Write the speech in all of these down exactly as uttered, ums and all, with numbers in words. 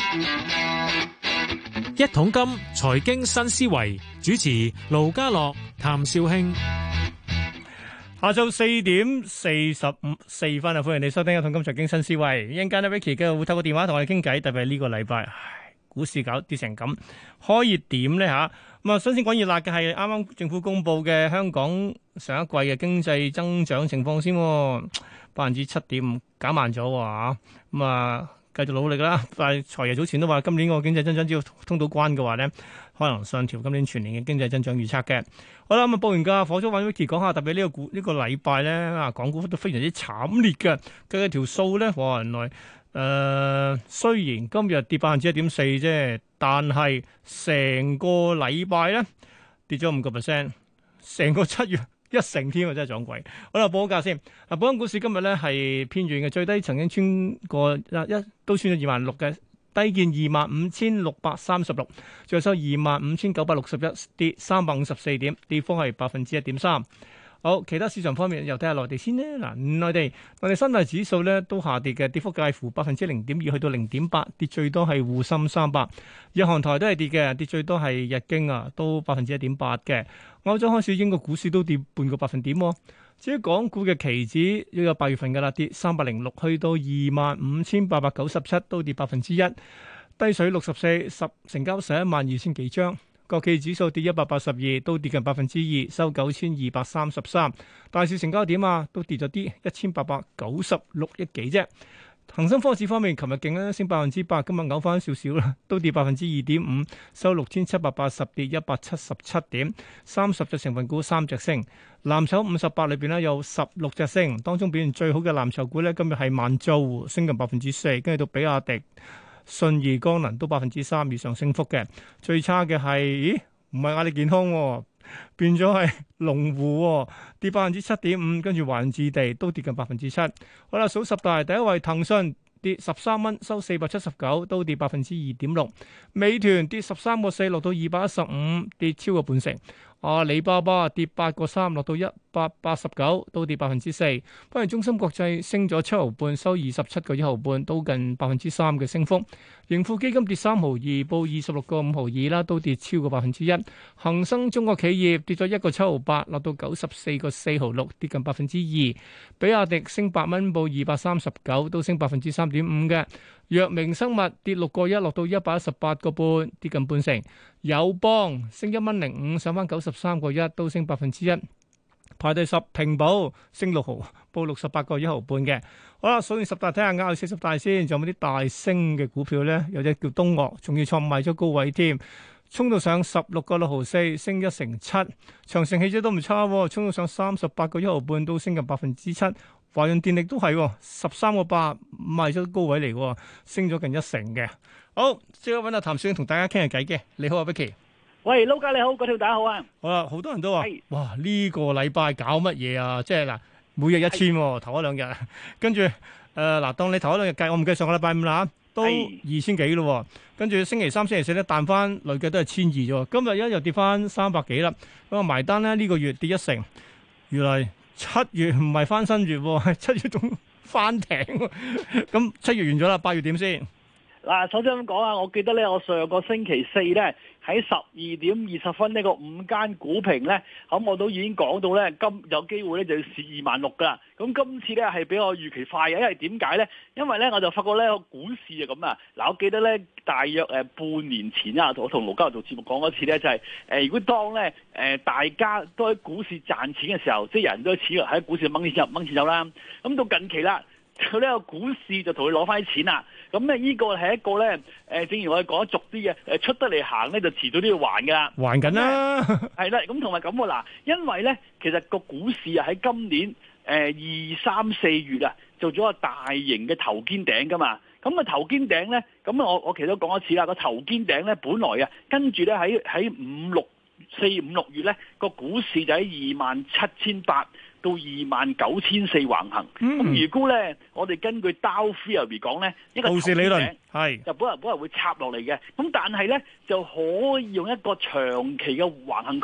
一桶金財經新思維主持盧家樂、譚紹興。 下晝四點四十五四分啊！歡迎你收聽一桶金財經新思維。一陣間咧，Vicky 嘅會透過電話同我哋傾偈，特別係呢個禮拜，唉，股市搞跌成咁，開熱點咧吓。咁啊，新鮮滾熱辣嘅係啱啱政府公布嘅香港上一季嘅經濟增長情況先，百分之七點五減慢咗啊！咁啊，繼續努力啦。但係財爺早前都話，今年個經濟增長只要通到關嘅話咧，可能上調今年全年嘅經濟增長預測嘅。好啦，咁啊報完價，火速揾 Vicky 講下，特別呢個股呢個禮拜咧啊，港股都非常之慘烈嘅。計條數咧，哇，原來誒雖然今日跌百分之一點四啫，但係成個禮拜咧跌咗五個 percent，成個七月一成添啊，真係撞鬼。好啦，報個價先。嗱，本港股市今日咧係偏軟嘅，最低曾經穿過一都穿咗二萬六嘅。低見二萬五千六百三十六，最後收二萬五千九百六十一，跌三百五十四點，跌幅係百分之一點三。好，其他市場方面又睇下內地先呢。嗱，內地內地三大指數咧都下跌嘅，跌幅介乎百分之零點二去到零點八，跌最多係滬深三百。日韓台都係跌嘅，跌最多係日經啊，都百分之一點八嘅。歐洲開市，英國股市都跌半個百分點。至於港股嘅期指，要有八月份嘅啦，跌三百零六，去到二萬五千八百九十七，都跌百分之一，低水六十四，十成交十一萬二千幾張。國企指數跌一百八十二，都跌近百分之二，收九千二百三十三。大市成交點啊，都跌咗啲，一千八百九十六億幾啫。恒生科指方面，琴日勁咧升百分之八，今日嘔翻少少啦，都跌百分之二點五，收六千七百八十，跌一百七十七點。三十隻成分股三隻升，藍籌五十八裏邊咧有十六隻升，當中表現最好嘅藍籌股咧今日係萬洲，升近百分之四，跟住到比亞迪、信義光能都百分之三以上升幅嘅。最差嘅係，咦？唔係阿里健康喎，變咗係龍湖喎，跌百分之七點五，跟住華置地都跌近百分之七。好啦，數十大第一位騰訊跌十三蚊，收四百七十九，都跌百分之二點六。美團跌十三個四，落到二百一十五，跌超過半成。阿里巴巴跌八個三，落到一百八十九，都跌百分之四。不過中芯國際升咗七毫半，收二十七個一毫半，都近百分之三嘅升幅。盈富基金跌三毫二，報二十六個五毫二啦，都跌超過百分之一。恒生中國企業跌咗一個七毫八，落到九十四個四毫六，跌近百分之二。比亞迪升八蚊，報二百三十九，都升百分之三點五嘅。藥明生物跌六個一，落到一百一十八個半，跌近半成。友邦升一蚊零五，上翻九十三個一，都升百分之一。排第十，平保升六毫，報六十八個一毫半嘅。好啦，數完十大睇下啱，四十大先，仲有冇啲大升嘅股票咧？有隻叫東岳，仲要創賣咗高位添，衝到上十六個六毫四，升一成七。長城汽車都唔差，衝到上三十八個一毫半，都升近百分之七。華潤電力都係十三個八，賣咗高位嚟，升咗近一成嘅。好，即刻揾阿譚紹興同大家傾下偈嘅。你好啊，Vicky。 喂，撈家你好，嗰條大家好啊。 好啦，好多人都話， 係哇，呢個禮拜搞乜嘢啊？即係嗱，每日一千，頭一兩日，跟住誒嗱，當你頭一兩日計，我唔計上個禮拜五啦，都二千幾咯。跟住星期三、星期四咧彈翻，累計都係千二啫。今日一又跌翻三百幾啦。咁啊埋單咧，呢個月跌一成，原來七月唔係翻新月，係七月仲翻艇。咁七月完咗啦，八月點先？ 嗱，首先咁講啊，我記得咧，我上個星期四咧喺十二點二十分呢個五間股評咧，咁我都已經講到咧，今有機會咧就要試二萬六噶啦。咁今次咧係比我預期快嘅，因為點解咧？因為咧我就發覺咧個股市就咁啊。嗱，我記得咧大約誒半年前啊，我同盧家樂做節目講嗰次咧，就係、是、誒如果當咧誒大家都喺股市賺錢嘅時候，即係人都似喺股市掹錢入掹錢走啦。咁到近期啦，佢呢個股市就同佢攞翻啲錢啦。咁咧呢個係一個咧，誒，正如我哋講得俗啲嘅，誒出得嚟行咧就遲早都要還噶啦， 還緊啦， 係啦，咁同埋咁喎嗱，因為咧其實個股市啊喺今年誒二三四月啊做咗個大型嘅頭肩頂噶嘛，咁個頭肩頂咧，咁我我其實都講一次啦，個頭肩頂咧本來啊跟住咧喺喺五六四五六月咧個股市就喺二萬七千八到二萬九千四橫行，咁、嗯、如果咧，我哋根據 Dow Theory 講咧，一個頭肩頂係就本來本來會插落嚟嘅，咁但係咧就可以用一個長期嘅橫行區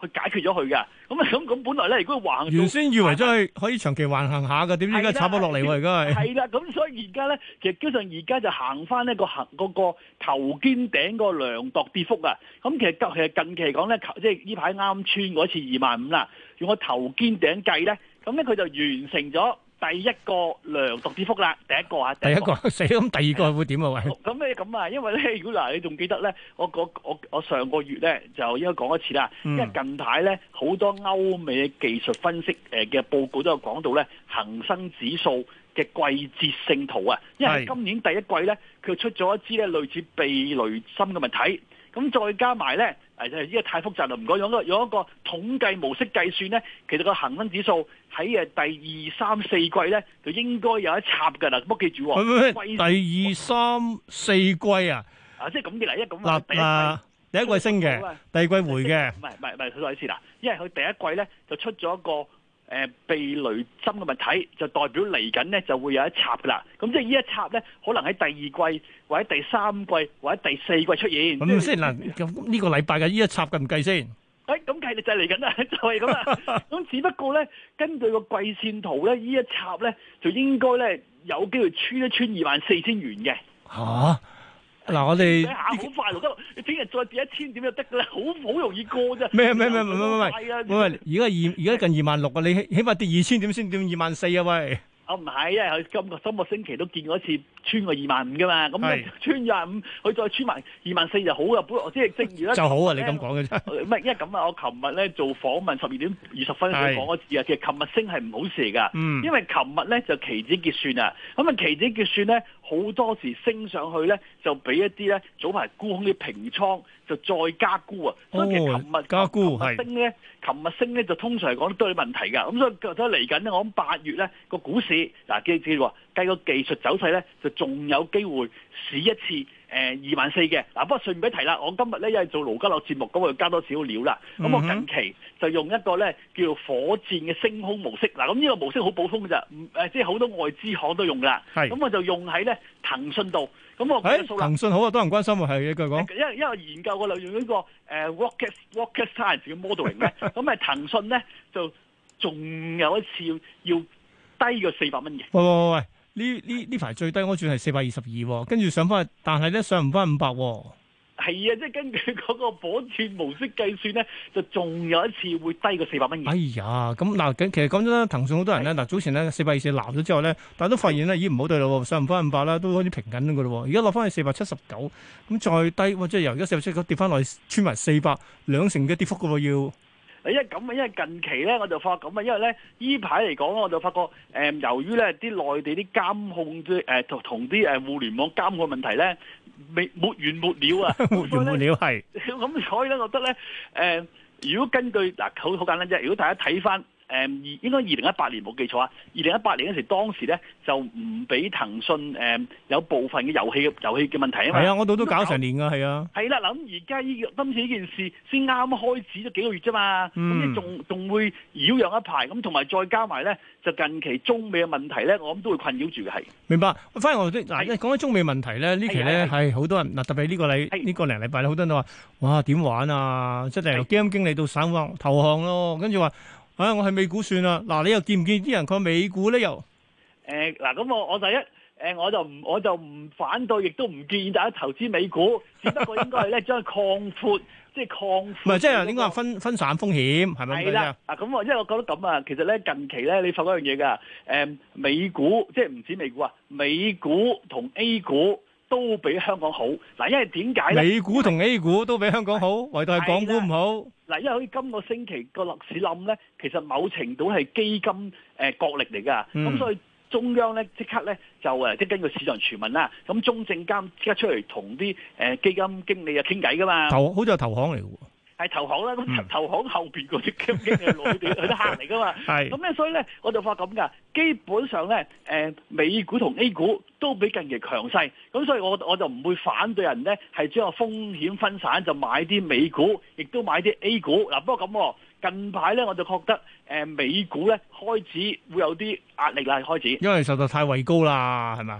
去解決咗佢嘅。咁啊咁咁本來咧，如果橫原先以為真係可以長期橫行下嘅，點知而家插咗落嚟喎？而家係係啦，咁所以而家咧，其實基本上而家就行翻呢個行嗰個頭肩頂個量度跌幅啊。咁其實其實近期嚟講咧，即係呢排啱穿嗰次二萬五啦，用個頭肩頂計咧，咁咧佢就完成咗第一個量度跌幅啦，第一個啊， 第一個死咁，第二個會點啊？喂， 咁咧咁啊，因為咧，如果嗱，你仲記得咧，我我我我上個月咧就應該講一次啦，因為近排咧好多歐美技術分析誒嘅報告都有講到咧，恒生指數嘅季節性圖啊，因為今年第一季咧佢出咗一支咧類似避雷針嘅物體。咁再加埋咧，誒就係呢個太複雜啦，唔該用一個用一個統計模式計算咧，其實個恒生指數喺誒第二三四季咧就應該有一插㗎啦，唔好記住喎。 第二三四季啊， 啊即係咁嘅啦，一咁嗱嗱第一季升嘅，第二季回嘅， 唔係唔係唔係，佢再一次啦，因為佢第一季咧就出咗一個。誒避雷針嘅物體就代表嚟緊咧就會有一插噶啦，咁即係呢一插咧可能喺第二季或者第三季或者第四季出現。 咁先嗱，咁呢個禮拜嘅呢一插計唔計先？ 誒咁計就係嚟緊啦，就係咁啦。咁只不過咧，根據個季線圖咧，呢一插咧就應該咧有機會穿一穿二萬四千元嘅。 嚇！嗱，我哋好快就得，你聽日再跌一千點就得㗎啦，好好容易過啫。 咩咩咩唔唔唔唔，喂，而家二而家近二萬六啊，你起起碼跌二千點先跌二萬四啊，喂！ 啊唔係，因為佢今個今個星期都見過一次穿過二萬五㗎嘛，咁穿二萬五，佢再穿埋二萬四就好啦。本來即係正如咧， 就好啊！你咁講嘅啫， 唔係因為咁啊，我琴日咧做訪問十二點二十分先講一次啊。其實琴日升係唔好事嚟㗎，嗯、因為琴日咧就期指結算啊，咁啊期指結算咧好多時升上去咧就俾一啲咧早排沽空啲平倉就再加沽啊，所以其實琴日加沽係升咧，琴日升咧就通常嚟講都有問題㗎，咁所以所以嚟緊咧，我諗八月咧個股市嗱記住喎，計個技術走勢咧就仲有機會試一次。誒二萬四嘅嗱，不過順便提啦，我今日咧因為做盧家樂節目，咁我就加多少料啦。咁、嗯、我近期就用一個咧叫做火箭嘅升空模式。嗱，咁呢個模式好普通㗎咋，誒即係好多外資行都用㗎。係，咁我就用喺咧騰訊度。咁我計數啦。騰訊好啊，多人關心喎，係一句講。 因為因為研究過啦，用呢個誒 rocket rocket science 嘅 modeling 咧，咁誒騰訊咧就仲有一次要要低過四百蚊嘅。 喂喂喂喂！呢呢呢排最低我轉係四百二十二，跟住上翻去，但係咧上唔翻五百。 係啊，即係根據嗰個火箭模式計算咧，就仲有一次會低過四百蚊嘅。 哎呀，咁嗱，其實講真啦，騰訊好多人咧，嗱的早前咧四百二十鬧咗之後咧，但係都發現咧，咦唔好對咯，上唔翻五百啦，都開始平緊㗎咯。而家落翻去四百七十九，咁再低，即係由而家四百七十九跌翻落去穿埋四百，兩成嘅跌幅㗎喎要。 因為咁啊，因為近期咧，我就發覺咁啊，因為咧依排嚟講咧，我就發覺誒、呃，由於咧啲內地啲監控啲誒同同啲誒互聯網監控問題咧，未沒完沒了啊， 沒完沒了係。 咁所以咧，我覺得咧誒、呃，如果根據嗱，好好簡單啫，如果大家睇翻。誒二應該二零一八年冇記錯啊！二零一八年嗰時當時咧就唔俾騰訊誒有部分嘅遊戲嘅遊戲嘅問題啊嘛。係啊，我度都搞成年㗎，係啊。 係啦，嗱咁而家呢今次呢件事先啱啱開始咗幾個月啫嘛，咁你仲仲會擾攘一排，咁同埋再加埋咧就近期中美嘅問題咧，我諗都會困擾住嘅係。明白， 反而我啲嗱，講起中美問題咧，呢期咧係好多人嗱，特別呢個禮呢個零禮拜咧，好多人都話：哇點玩啊！即係由基金經理到散戶投降咯，跟住話。啊！我係美股算啦，嗱，你又見唔見啲人講美股咧？又誒嗱，咁我我第一誒，我就唔我就唔反對，亦都唔建議大家投資美股，只不過應該係咧將佢擴闊，即係擴闊。唔係， 即係應該話分分散風險，係咪咁樣？係啦， 啊咁我因為我覺得咁啊，其實咧近期咧，你發覺一樣嘢㗎，誒美股即係唔止美股啊，美股同 A 股都比香港好。嗱，因為點解咧？ 美股同 A 股都比香港好，唯獨係港股唔好。 嗱，因為好似今個星期個樓市冧咧，其實某程度係基金誒、呃、角力嚟㗎，咁、嗯、所以中央咧即刻咧就誒即係根據市場傳聞啦，咁中證監即刻出嚟同啲誒基金經理啊傾偈㗎嘛， 投好似係投行嚟㗎喎。 係投行啦，咁投行後邊嗰啲基金經理係內地佢啲客嚟噶嘛，係咁咧，所以咧我就發咁噶，基本上咧，誒美股同 A 股都比近期強勢，咁所以我我就唔會反對人咧係將個風險分散，就買啲美股，亦都買啲 A 股。嗱，不過咁近排咧我就覺得誒美股咧開始會有啲壓力啦，開始， 因為受到太位高啦，係咪？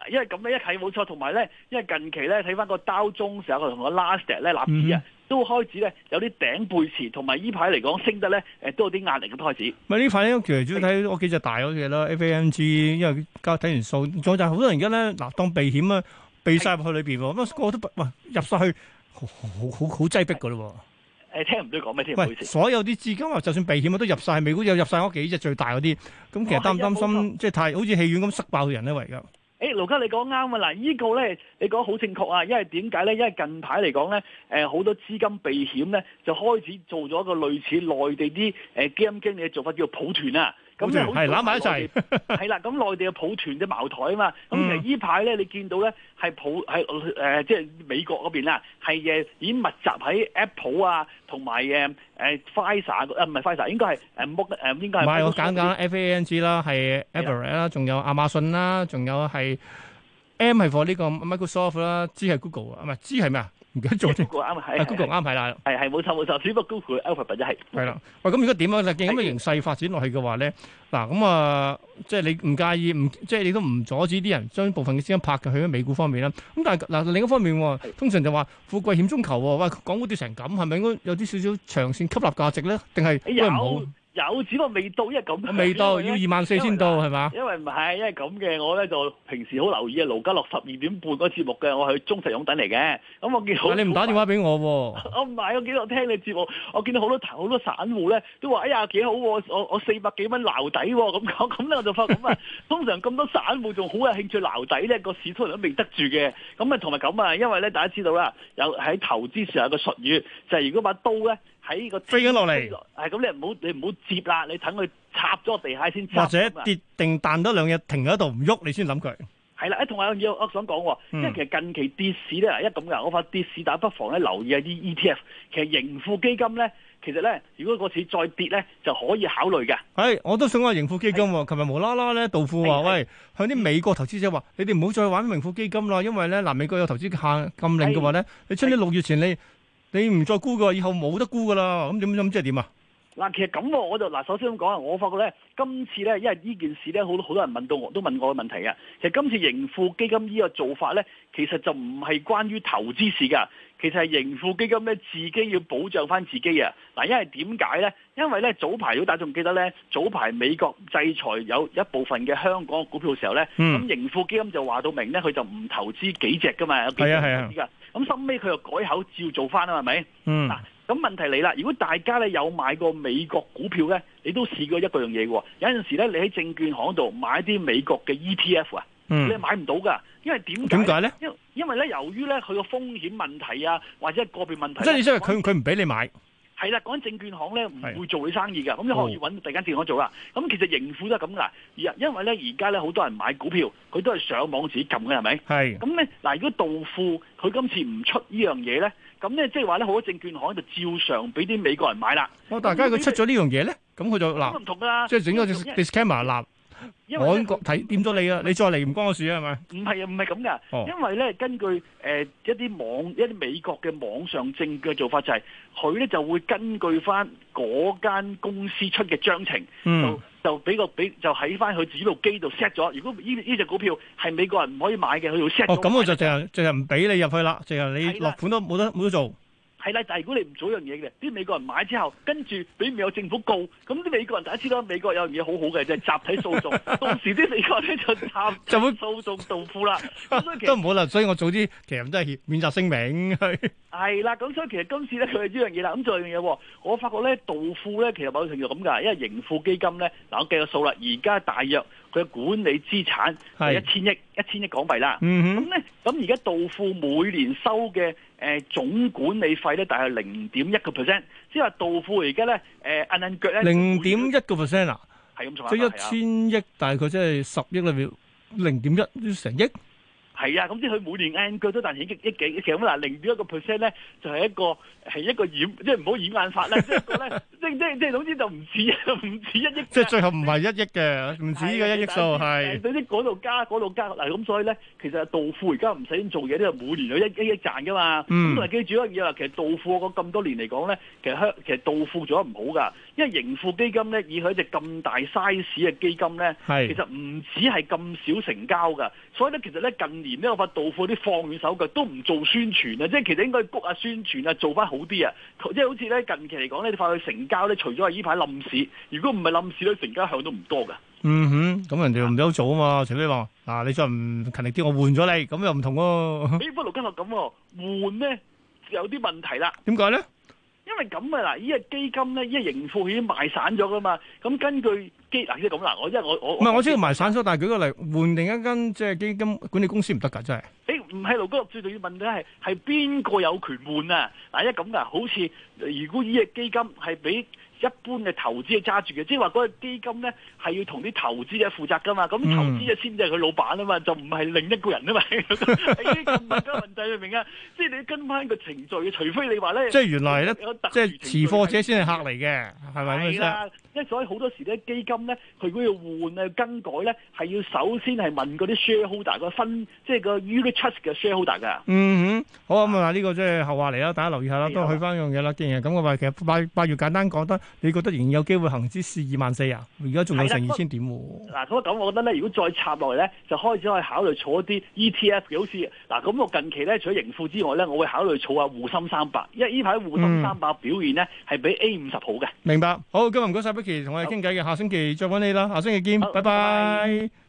嗱，因為咁咧一睇冇錯，同埋咧，因為近期咧睇翻個Dow Jones成個同個 Nasdaq 咧納指啊，都開始咧有啲頂背馳，同埋依排嚟講升得咧誒都有啲壓力咁開始。 咪呢排咧其實主要睇嗰幾隻大嗰隻啦，F A N G，因為交睇完數，仲有就係好多人而家咧嗱當避險啊，避晒入去裏邊喎，咁個個都哇入晒去好好好好擠逼噶咯喎。 誒聽唔到講咩添？唔好意思。 所有啲資金啊，就算避險啊，都入晒美股，又入晒嗰幾隻最大嗰啲。咁其實擔唔擔心，即係太好似戲院咁塞爆人咧？為㗎。 誒，盧家你講啱啊！嗱，依個咧你講好正確啊，因為點解咧？因為近排嚟講咧，誒好多資金避險咧，就開始做咗一個類似內地啲誒基金經理嘅做法，叫做抱團啊。咁咧係攬埋一齊， 係啦。咁內地嘅抱團嘅茅台啊嘛。咁其實依排咧，你見到咧係抱係誒，即係美國嗰邊啦，係誒已經密集喺 Apple 啊，同埋誒誒 Pfizer 啊，唔係 Pfizer，應該係誒 Mo 誒應該係。 唔係我簡簡 F A N G 啦，係 Apple 啦，仲有亞馬遜啦，仲有係 M 係 for 呢個 Microsoft 啦，G 係 Google 啊，唔係 G 係咩啊？唔記得咗添。 Google 啱係 Google 啱係啦， 係係冇錯冇錯，只不過 Google Alphabet 就係。係啦，喂，咁如果點啊？見咁嘅形勢發展落去嘅話咧，嗱咁啊，即係你唔介意，唔即係你都唔阻止啲人將部分嘅資金拍嘅去咗美股方面啦。咁但係嗱另一方面，通常就話富貴險中求喎。喂，港股跌成咁，係咪應該有啲少少長線吸納價值咧？定係都唔好？ 有，只不過未到，因為咁未到，要二萬四先到係嘛？ 因為唔係，因為咁嘅，我咧就平時好留意啊，盧家樂十二點半嗰個節目嘅，我係忠實擁躉嚟嘅。咁我見到你唔打電話俾我喎？ 我唔係，我見到我聽你節目，我見到好多好多散戶咧都話：哎呀幾好喎！我我四百幾蚊撈底喎，咁講咁咧我就發覺咁啊，通常咁多散戶仲好有興趣撈底咧，個市通常都未得住嘅。咁啊同埋咁啊，因為咧大家知道啦，有喺投資上有個術語，就係如果把刀咧。喺個飛緊落嚟， 係咁你唔好你唔好接啦，你等佢插咗地下先插。 或者跌定彈多兩日停喺度唔喐，你先諗佢。 係啦，誒同埋有樣嘢我想講喎，因為其實近期跌市咧，一咁噶，我發跌市大家不妨咧留意下啲 E T F，其實盈富基金咧，其實咧如果個市再跌咧，就可以考慮嘅。 係，我都想話盈富基金喎，琴日無啦啦咧，道富話喂，向啲美國投資者話，你哋唔好再玩盈富基金啦，因為咧嗱美國有投資限禁令嘅話咧，你出年六月前你。你唔再沽嘅，以後冇得沽噶啦，咁點咁即係點啊？嗱， 其實咁我就嗱，首先咁講啊，我發覺咧，今次咧，因為呢件事咧，好多好多人問到我，都問我嘅問題嘅。其實今次盈富基金呢個做法咧，其實就唔係關於投資事㗎，其實係盈富基金咧自己要保障翻自己啊。嗱，因為點解咧？因為咧早排如果大家仲記得咧，早排美國制裁有一部分嘅香港股票嘅時候咧，咁、嗯、盈富基金就話到明咧，佢就唔投資幾隻㗎嘛，有幾隻投資㗎。咁收尾佢又改口照做翻啊，係咪？嗯。嗱，咁問題嚟啦，如果大家咧有買過美國股票咧，你都試過一個樣嘢喎。有陣時咧，你喺證券行度買啲美國嘅 E T F 啊、嗯，你係買唔到㗎，因為點點解咧？ 因因為咧，由於咧佢個風險問題啊，或者係個別問題， 即係意思係佢佢唔俾你買。 係啦，講緊證券行咧唔會做你生意㗎，咁你可以揾第間證券行做啦。咁、哦、其實盈富都係咁㗎，而因為咧而家咧好多人買股票，佢都係上網自己撳嘅，係咪？係。咁咧嗱，如果道富佢今次唔出呢樣嘢咧，咁咧即係話咧好多證券行就照常俾啲美國人買啦。哦，大家佢出咗呢樣嘢咧，咁佢就嗱，唔同㗎啦，即係整個 disclaimer 立。我已經睇掂咗你啦，你再嚟唔關我事啊，係咪？唔係啊，唔係咁噶，因為咧根據誒、呃、一啲網一啲美國嘅網上證嘅做法就係佢咧就會根據翻嗰間公司出嘅章程，嗯、就就俾個俾就喺翻佢自己部機度 set 咗。如果呢呢隻股票係美國人唔可以買嘅，佢就 set 咗。哦，咁我就淨係淨係唔俾你入去啦，淨係你落盤都冇得冇得做。係啦，但係如果你唔做一樣嘢嘅，啲美國人買之後，跟住俾美國政府告，咁啲美國人大家知道美國有樣嘢好好嘅，就係、是、集體訴訟，到時啲美國人咧就集就會訴訟道富啦。都唔好啦，所以我早啲其實都係免責聲明。係啦，咁所以其實今次咧佢係呢樣嘢啦。咁仲有一樣嘢，我發覺咧道富咧其實某程度咁㗎，因為盈富基金咧嗱，我計個數啦，而家大約佢嘅管理資產係一千億一千億港幣啦。咁咧咁而家道富每年收嘅誒、呃、總管理費咧，大概零點一個 percent， 即係話道富而家咧誒揞揞腳咧零點一個 percent 啊，係咁錯，即係一千億大概即係十億裏面零點一成億。係啊，咁即係佢每年按腳都但係億億幾，其實咁嗱零點一個 percent 咧，就係一個係一個掩，即係唔好掩眼法啦，即係個咧，即即即總之就唔止唔止一億。即係最後唔係一億嘅，唔止嘅一億數係。總之嗰度加嗰度加嗱，咁所以咧，其實道富而家唔使做嘢，都係每年有一一億賺噶嘛。咁同埋記住一樣嘢啦，其實道富我講咁多年嚟講咧，其實香其實道富做得唔好噶。 因為盈富基金咧，以佢一隻咁大 size 嘅基金咧， 係其實唔止係咁少成交㗎，所以咧其實咧近年咧我發道富啲放軟手腳都唔做宣傳啊，即係其實應該谷下宣傳啊，做翻好啲啊，即係好似咧近期嚟講咧，你發覺成交咧，除咗係依排冧市，如果唔係冧市咧，成交向都唔多㗎。 嗯哼，咁人哋唔有做啊嘛，除非話嗱你再唔勤力啲，我換咗你，咁又唔同喎。 誒，不過盧家樂咁喎，換咧有啲問題啦。 點解咧？ 因為咁啊嗱，依個基金咧，依個盈富已經賣散咗噶嘛。咁根據基嗱即係咁啦，我因為我我唔係我知道賣散咗，但係舉個例換另一間即係基金管理公司唔得㗎，真係。 誒唔係盧家樂最重要問題係係邊個有權換啊？嗱，因為咁噶，好似如果依個基金係俾一般嘅投資者揸住嘅，即係話嗰個基金咧係要同啲投資者負責噶嘛，咁投資者先至係佢老闆啊嘛，就唔係另一個人啊嘛，呢個唔係個問題，明唔明啊？即係你跟翻個程序嘅，除非你話咧， 即係原來咧，即係持貨者先係客嚟嘅，係咪咁啊？即係所以好多時咧，基金咧，佢如果要換啊、更改咧，係要首先係問嗰啲 shareholder 個分，即係個 unit trust 嘅 shareholder 㗎。 嗯哼，好咁啊！呢個即係後話嚟啦，大家留意下啦，都去翻樣嘢啦。既然係咁嘅話，其實八八月簡單講得，你覺得仍然有機會行至試二萬四啊？而家仲有成二千點喎。嗱， 咁咁，我覺得咧，如果再插落嚟咧，就開始可以考慮儲一啲 E T F 嘅，好似嗱，咁我近期咧，除咗盈富之外咧，我會考慮儲下滬深三百，因為呢排滬深三百表現咧係比 A 五十好嘅。 明白，好，今日唔該晒 Vicky 同我哋傾偈嘅，下星期再揾你啦，下星期見，拜拜。